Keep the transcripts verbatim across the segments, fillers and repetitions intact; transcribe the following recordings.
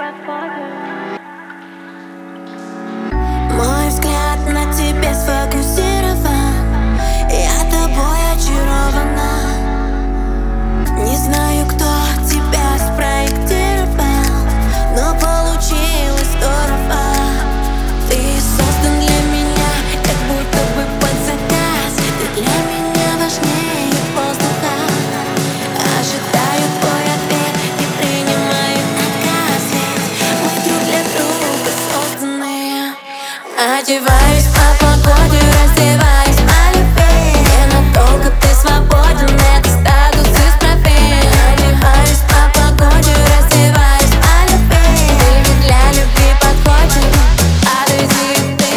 Мой взгляд на тебе сфокусирован, я тобой очарована. Не знаю, кто тебя спроектировал, но получилось здорово. Ты создан для меня, как будто бы под заказ. Ты для меня важнее воздуха. Ожидаю твой ответ, не принимаю отказ, ведь мы друг для друга созданы. Одеваюсь по погоде, раздеваюсь по любви. Ненадолго ты свободен, это статус исправим. Одеваюсь по погоде, раздеваюсь по любви. Ты ведь для любви подходит, подойди ты.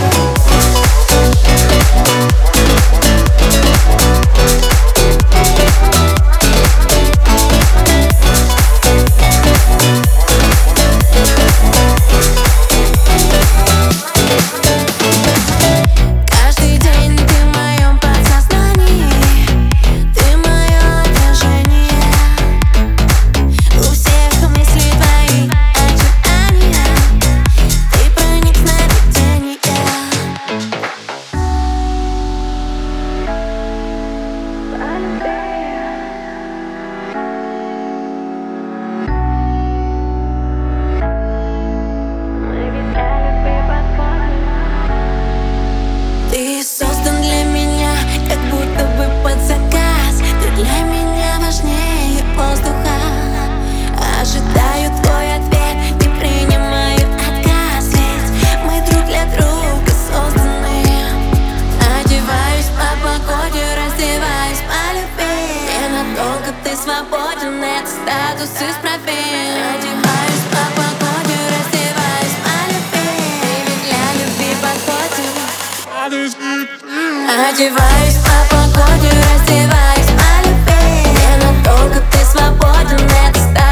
Каждый день ты в моем подсознании, ты мое отражение. У всех мыслей твои очертания, ты проник в сновидения. Ты создан для меня, как будто бы под заказ. Ты для меня важнее воздуха. Ожидаю твой ответ, не принимаю отказ, ведь мы друг для друга созданы. Одеваюсь по погоде, раздеваюсь по любви. Ненадолго ты свободен, это статус исправим. Одеваюсь по погоде, раздеваюсь по любви. Ты ведь для любви подходит. Одеваюсь по погоде, раздеваюсь по любви. Ненадолго ты свободен, это статус.